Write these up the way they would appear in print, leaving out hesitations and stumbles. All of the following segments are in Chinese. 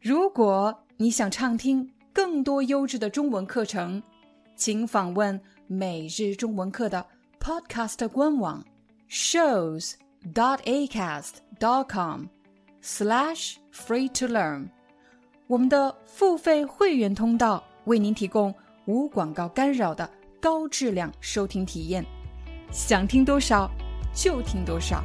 如果你想畅听更多优质的中文课程，请访问每日中文课的 Podcast 官网 shows.acast.com/free-to-learn。我们的付费会员通道为您提供无广告干扰的高质量收听体验，想听多少就听多少。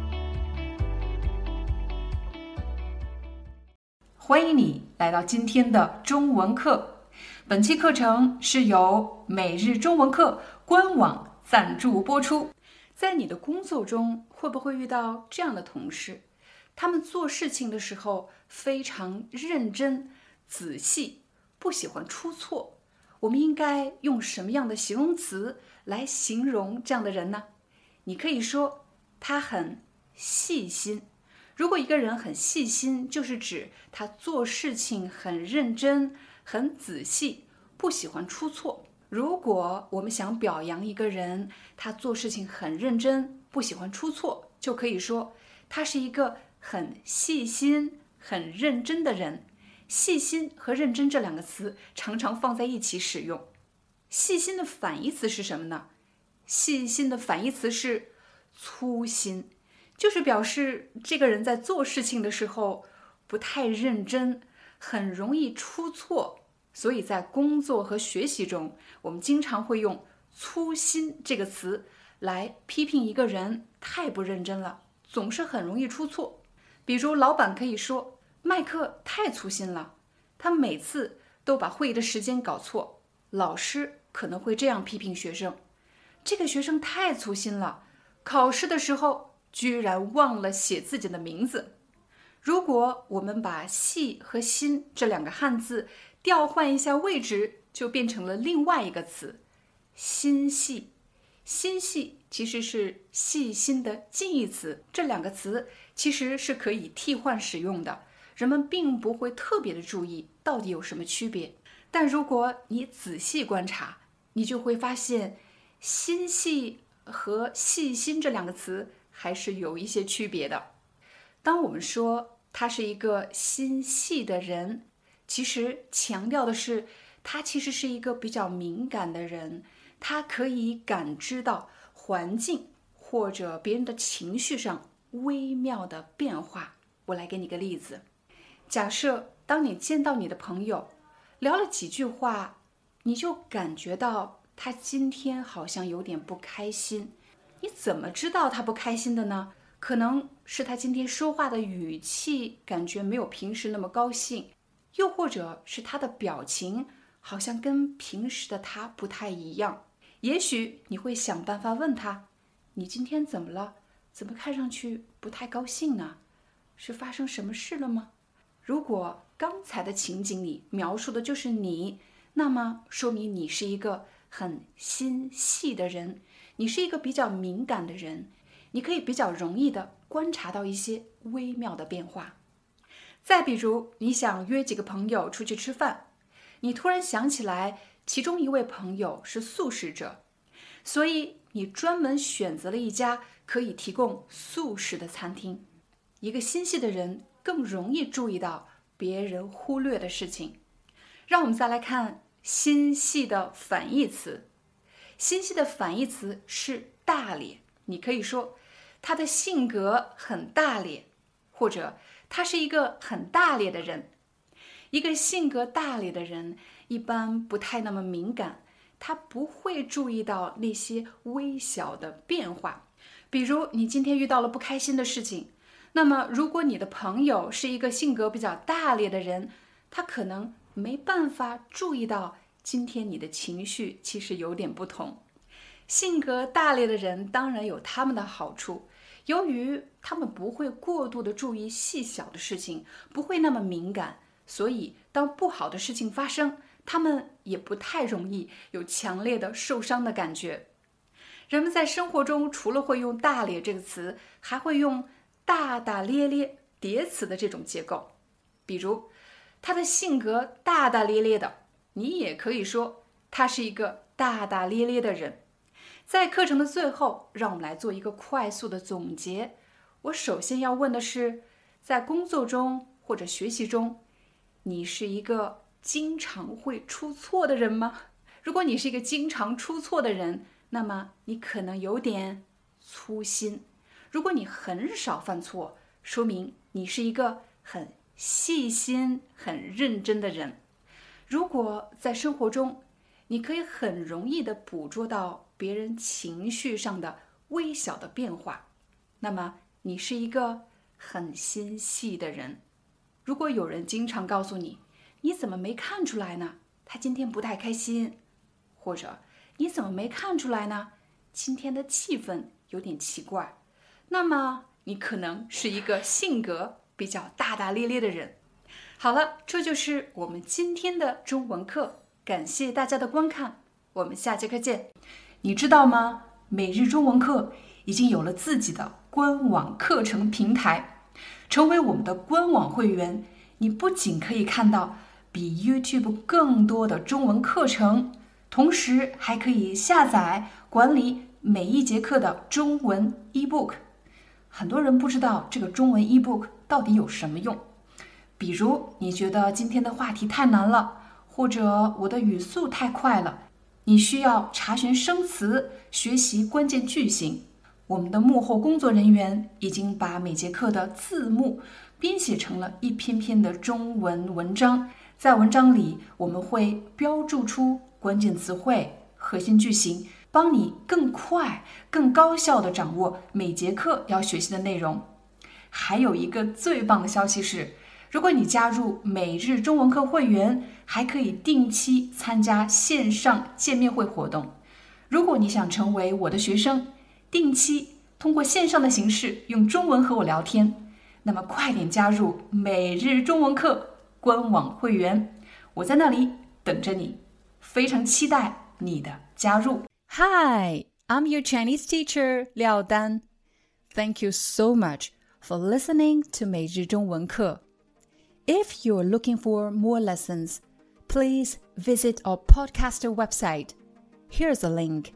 欢迎你来到今天的中文课。本期课程是由每日中文课官网赞助播出。在你的工作中，会不会遇到这样的同事？他们做事情的时候非常认真、仔细，不喜欢出错。我们应该用什么样的形容词来形容这样的人呢？你可以说他很细心。如果一个人很细心，就是指他做事情很认真、很仔细，不喜欢出错。如果我们想表扬一个人，他做事情很认真，不喜欢出错，就可以说他是一个很细心、很认真的人。细心和认真这两个词常常放在一起使用。细心的反义词是什么呢？细心的反义词是粗心，就是表示这个人在做事情的时候不太认真，很容易出错。所以在工作和学习中，我们经常会用粗心这个词来批评一个人太不认真了，总是很容易出错。比如老板可以说麦克太粗心了，他每次都把会议的时间搞错。老师可能会这样批评学生，这个学生太粗心了，考试的时候居然忘了写自己的名字。如果我们把细和心这两个汉字调换一下位置，就变成了另外一个词，心细。心细其实是细心的近义词，这两个词其实是可以替换使用的，人们并不会特别的注意到底有什么区别。但如果你仔细观察，你就会发现心细和细心这两个词还是有一些区别的。当我们说他是一个心细的人，其实强调的是他其实是一个比较敏感的人，他可以感知到环境或者别人的情绪上微妙的变化。我来给你个例子，假设当你见到你的朋友，聊了几句话，你就感觉到他今天好像有点不开心。你怎么知道他不开心的呢？可能是他今天说话的语气感觉没有平时那么高兴，又或者是他的表情好像跟平时的他不太一样。也许你会想办法问他，你今天怎么了？怎么看上去不太高兴呢？是发生什么事了吗？如果刚才的情景里描述的就是你，那么说明你是一个很心细的人，你是一个比较敏感的人，你可以比较容易的观察到一些微妙的变化。再比如，你想约几个朋友出去吃饭，你突然想起来其中一位朋友是素食者，所以你专门选择了一家可以提供素食的餐厅。一个心细的人更容易注意到别人忽略的事情。让我们再来看心细的反义词。心细的反义词是大咧。你可以说他的性格很大咧，或者他是一个很大咧的人。一个性格大咧的人一般不太那么敏感，他不会注意到那些微小的变化。比如你今天遇到了不开心的事情，那么如果你的朋友是一个性格比较大咧的人，他可能没办法注意到今天你的情绪其实有点不同。性格大咧的人当然有他们的好处，由于他们不会过度的注意细小的事情，不会那么敏感，所以当不好的事情发生，他们也不太容易有强烈的受伤的感觉。人们在生活中除了会用大咧这个词，还会用大大咧咧叠词的这种结构。比如他的性格大大咧咧的，你也可以说他是一个大大咧咧的人。在课程的最后，让我们来做一个快速的总结。我首先要问的是，在工作中或者学习中， 你是一个经常会出错的人吗？如果你是一个经常出错的人，那么你可能有点粗心。如果你很少犯错，说明你是一个很细心、很认真的人。如果在生活中，你可以很容易地捕捉到别人情绪上的微小的变化，那么你是一个很心细的人。如果有人经常告诉你，你怎么没看出来呢？他今天不太开心，或者你怎么没看出来呢？今天的气氛有点奇怪，那么你可能是一个性格比较大大咧咧的人。好了，这就是我们今天的中文课，感谢大家的观看，我们下节课见。你知道吗？每日中文课已经有了自己的官网课程平台，成为我们的官网会员，你不仅可以看到比 YouTube 更多的中文课程，同时还可以下载管理每一节课的中文 ebook。 很多人不知道这个中文 ebook 到底有什么用，比如你觉得今天的话题太难了，或者我的语速太快了，你需要查询生词，学习关键句型。我们的幕后工作人员已经把每节课的字幕编写成了一篇篇的中文文章，在文章里我们会标注出关键词汇、核心句型，帮你更快、更高效地掌握每节课要学习的内容。还有一个最棒的消息是，如果你加入每日中文课会员，还可以定期参加线上见面会活动。如果你想成为我的学生，定期通过线上的形式用中文和我聊天，那么快点加入每日中文课官网会员，我在那里等着你，非常期待你的加入。 Hi, I'm your Chinese teacher, Liao Dan. Thank you so much for listening to 每日中文课。If you're looking for more lessons, please visit our podcaster website. Here's a link: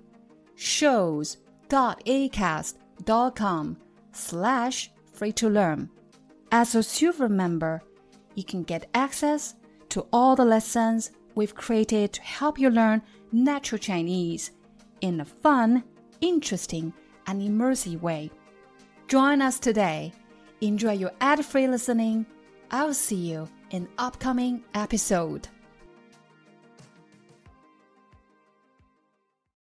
shows.acast.com/free-to-learn. As a silver member, you can get access to all the lessons we've created to help you learn natural Chinese in a fun, interesting, and immersive way. Join us today. Enjoy your ad-free listening. I'll see you in upcoming episode.